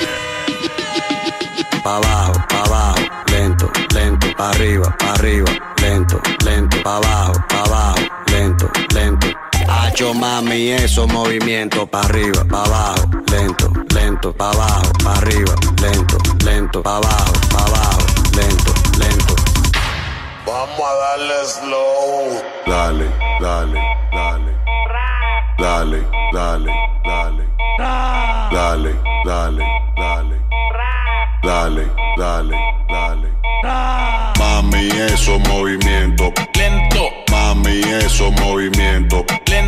pa' abajo, pa' abajo, lento, lento, pa' arriba, pa' arriba, lento, lento, pa' abajo, pa' abajo, lento, lento. Hacho, mami, esos movimientos pa' arriba, pa' abajo, lento, lento, pa' abajo, pa' arriba, lento, lento, pa' abajo, pa' abajo, lento, lento.
Vamos a darle slow. Dale, dale, dale. Dale, dale, dale. Dale, dale, dale. Dale, dale, dale. Mami, esos movimientos lento. Mami, esos movimientos lento.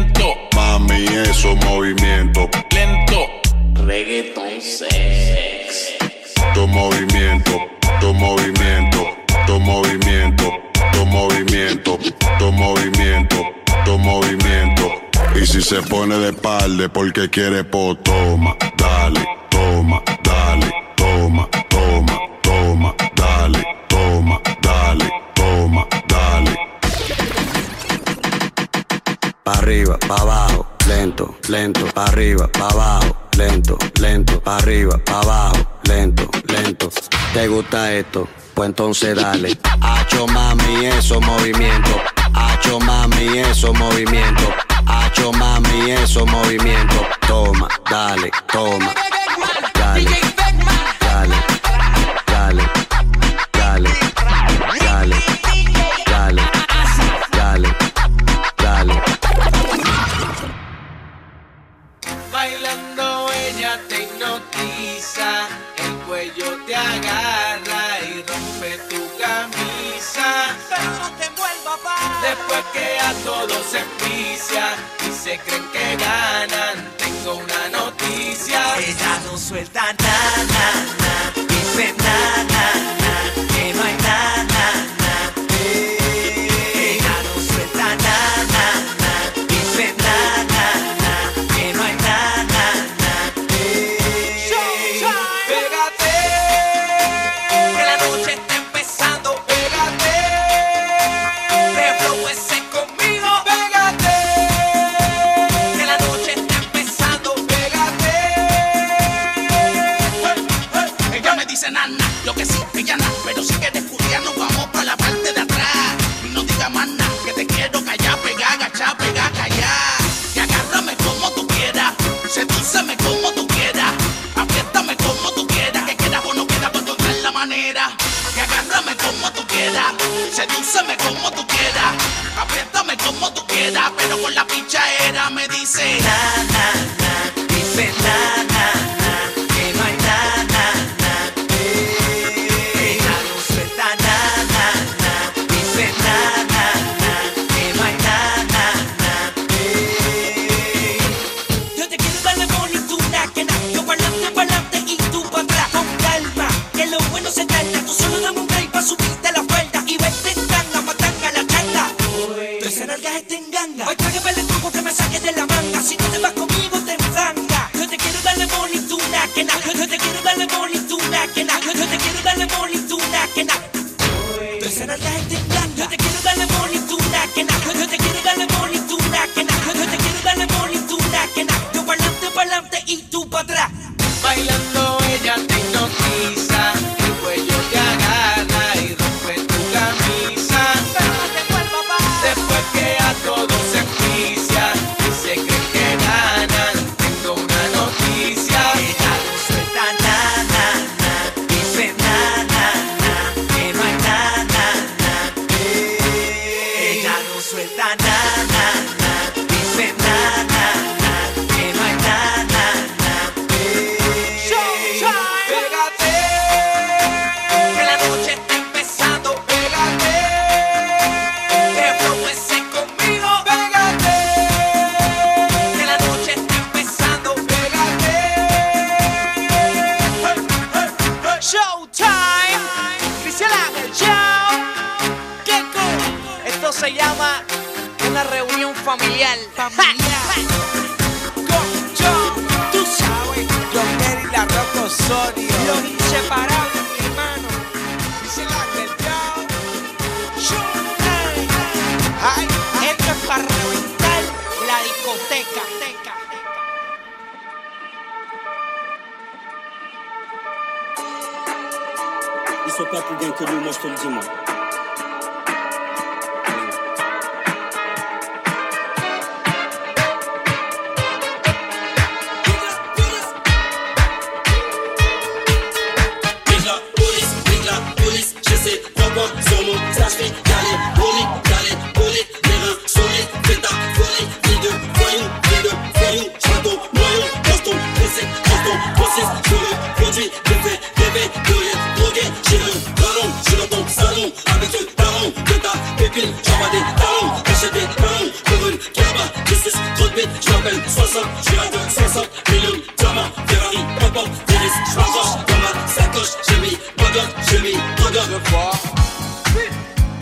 pone de espalda porque quiere po. Toma, dale, toma, dale, toma, toma, toma, dale, toma, dale, toma, dale.
Pa' arriba, pa' abajo, lento, lento, pa' arriba, pa' abajo, lento, lento, pa' arriba, pa' abajo, lento, lento. ¿Te gusta esto? Pues entonces dale. Hacho mami, eso movimiento. Hacho mami, eso movimiento. Hacho mami, eso movimiento. Toma, dale, toma. Dale, dale, dale, dale, dale, dale, dale, dale.
Bailando ella te hipnotiza, el cuello te agarra y rompe tu camisa. Pero no te vuelvas pa. Después que a todos se envicia y se creen que ganan, tengo una noticia. Ella no suelta na, na, na, dice na, na, na, que no hay na, na, na. Eh, ella no suelta na, na, na, dice na, na, na, que no hay na, na, na. Eh, pégate, que la noche está empezando. Pégate, reproduce conmigo. Pégate, que la noche está empezando. Pégate. Hey, hey. Ella me dice nana, lo que sí, ella nada, pero si quieres culiar nos vamos para la parte de atrás. Y no diga más nada, que te quiero callar, pegar, agachar, pegar, callar. Y agárrame como tú quieras, sedúceme como tú quieras, apriétame como tú quieras, que quieras o no quieras, pues encontrar la manera. Y agárrame como tú quieras, sedúceme como tú quieras, apriétame como tú quieras, pero con la pichadera me dice na, na, na, dice na, na, na, que no hay na, na, na. Eh, ella no suelta na, na, na, dice na, na, na, que no hay na, na, na. Eh, yo te quiero darle bonituna, que na, yo pa'lante, pa'lante y tú pa' atrás. Con calma, que lo bueno se trata, tú solo dame un break pa' subirte la falda y vete en tanga, matanga la changa. Tú esa nalga está en ganga, hoy traje el truco que me saque de la manga. Si no te vas conmigo te enfranga. Yo te quiero darle bonituna, que na, yo te quiero darle bonituna, que na, yo te quiero darle bonituna, que na. Tú esa nalga está en ganga, yo te quiero darle bonituna, que na, yo te quiero darle bonituna, que na, yo te quiero darle bonituna, que na. Yo pa'lante, pa'lante y tú pa' atrás. Bailando ella te hipnotiza, el cuello te agarra y rompe tu camisa. Pero no te vuelvas pa. Después que a todos se envicia y se creen que ganan, tengo una noticia. Ella no suelta na, na, na, dice na, na, na, que no hay na, na, na. Eh, ella no suelta na, na, na, dice na, na, na, que no hay na, na, na. Eh, pégate, que la noche está empezando. Pégate, reproduce conmigo. Pégate, que la noche está empezando. Pégate. Hey, hey, hey. Showtime, Cristian Ángel, chao. ¿Qué co? Esto se llama una reunión familiar. Familiar. Con yo, tú sabes, John Kerry, la Rocco Osorio, los inseparables, mi hermano. Cristian Ángel, chao. Showtime. Ay, esto es para reventar la discoteca.
Ils sont pas plus bien que nous, moi je te le dis moi.
Big la police, big la police, j'essaie d'encore sur mon stage, fais caler, boni, caler, boni, les reins solides, fais ta folie, vie de voyou, vie de voyou, j'attends, noyau, baston, pressé, baston, process, je le produis, bébé, bébé, de rien, drogué, j'ai le ballon, je dans ton salon, avec ce talon, de ta pépine, j'envoie des talons, achète des talons, pour une caba, dix-six, trop de bits, je m'appelle soixante, je suis à deux cent cinquante millions de diamants, Ferrari, Papa, Dennis, je m'accroche dans ma sacoche, j'ai mis Bogot, j'ai mis Bogot.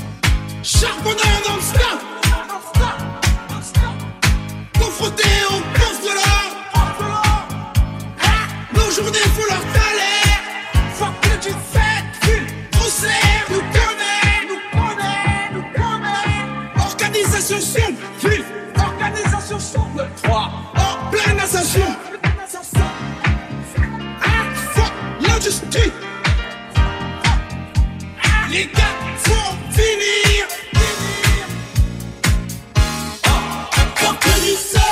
Charbonneur non-stop, confronté au
journée faut leur taler. Fuck que tu fais, ville, poussière, nous connaît, nous connaît, nous connaît. Organisation sombre, ville, organisation sombre. trois, en pleine ascension. Ah, fuck l'industrie. Les gars vont finir. Fuck que tu sais.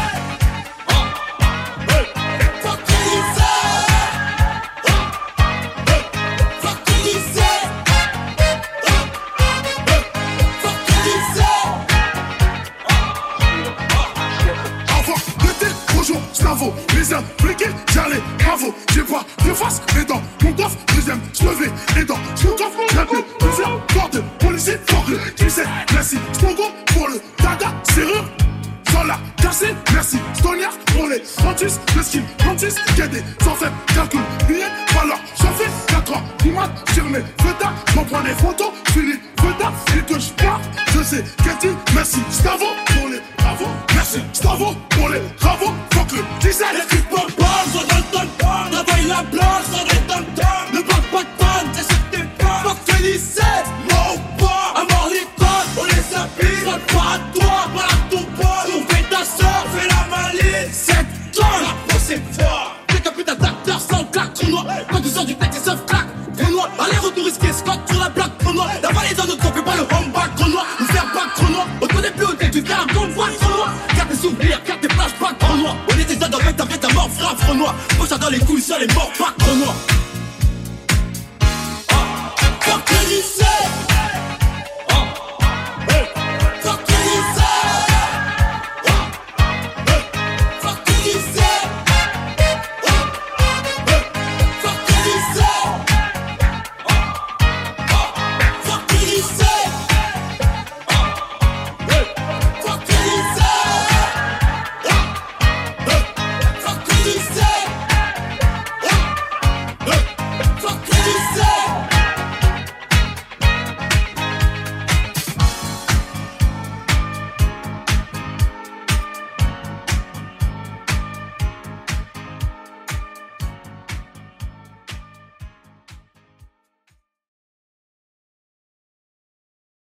Les impliqués, j'allais, bravo, j'ai pas de face, les dents, mon coffre, deuxième, j'levais les dents, mon coffre, j'ai plus plusieurs cordes, policiers, fuck le, qui sait, merci, Spongo pour le dada, serrure, sans la casser, merci, Stoniard pour les ventus, le skin, ventus, guédé, sans faire calcul, billet, alors, j'en fais quatre ans, image sur mes feuilles, j'en prends des photos, Philippe, feuilles, et que je pars, je sais, Cathy, merci, Stavo pour les travaux, merci, Stavo pour les travaux, fuck le, qui sait,
les trucs pas bonnes, soit dans le ton-ton, travaille la blanche, soit dans le ton-ton, ne parle pas de panne, t'es sur tes pas, fuck Félicé, moi ou pas, à mort les codes, on les habille, soit pas à toi, pas à ton pote, on fait ta soeur, fais la malice, sept tonnes, la c'est fort, t'es qu'un putain d'acteur sans claque, trou noir, quand tu sors du texte, ils savent claque, trou noir, aller-retour risqué, Scott sur la plaque, trou noir, la vallée dans notre corps, fais pas le home-back, trou noir, nous faire pas trou noir, on connaît plus au tel, tu fais un convoi, trou noir, garde tes souvenirs, garde tes plages, pas trou noir, on était dans ta vie, ta mort, frappe, trou noir, moi j'adore les couilles sur les morts, pas trou noir.